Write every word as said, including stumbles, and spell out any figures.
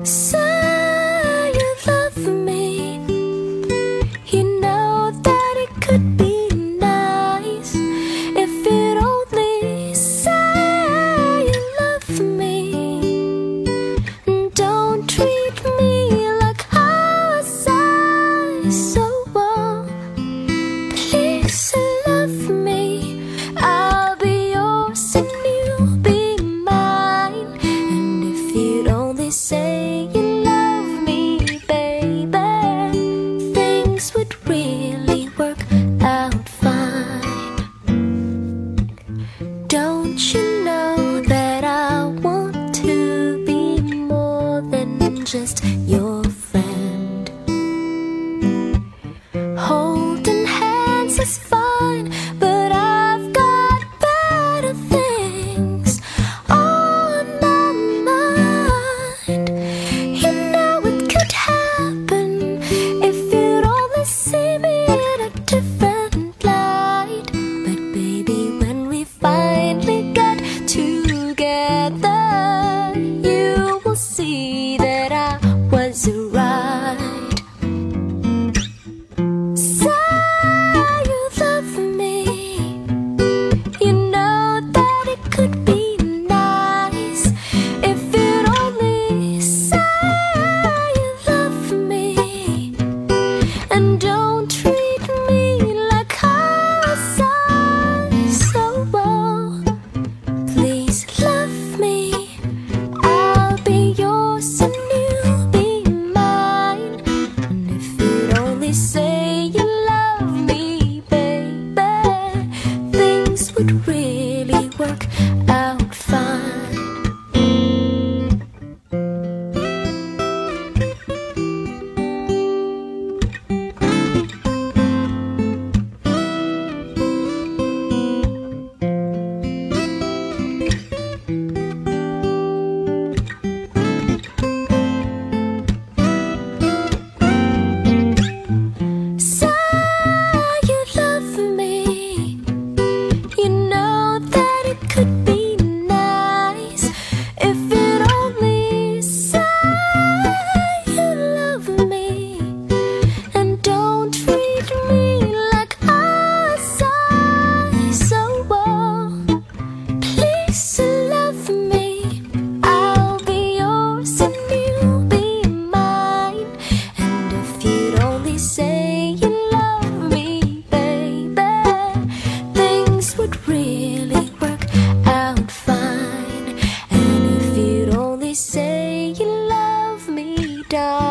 Say you love me, you know that it could be nice if you'd only say you love me. Don't treat me like how I say so well. Please love me, I'll be yours and you'll be mine. And if you'd only say you love me, baby, things would really work out fine. Don't you know that I want to be more than just your friend? Holding hands is fine, but I've got better things on my mind. You know it could happen if you'd only see me in a different light. But baby, when we finally get together, you will see that I was right. Say you love me, you know that it could be nice if you'd only say you love me. And don't treat me like how I say so well. Please love me, I'll be yours and you'll be mine. And if you'd only say you love me, baby, things would really work out fine. Say you love me, you know that it could be nice if you'd only say you love me. And don't treat me like I say so well. Please love me, I'll be yours and you'll be mine. And if you'd only say you love me, baby, things would really work out fine. And if you'd only say you love me, darling,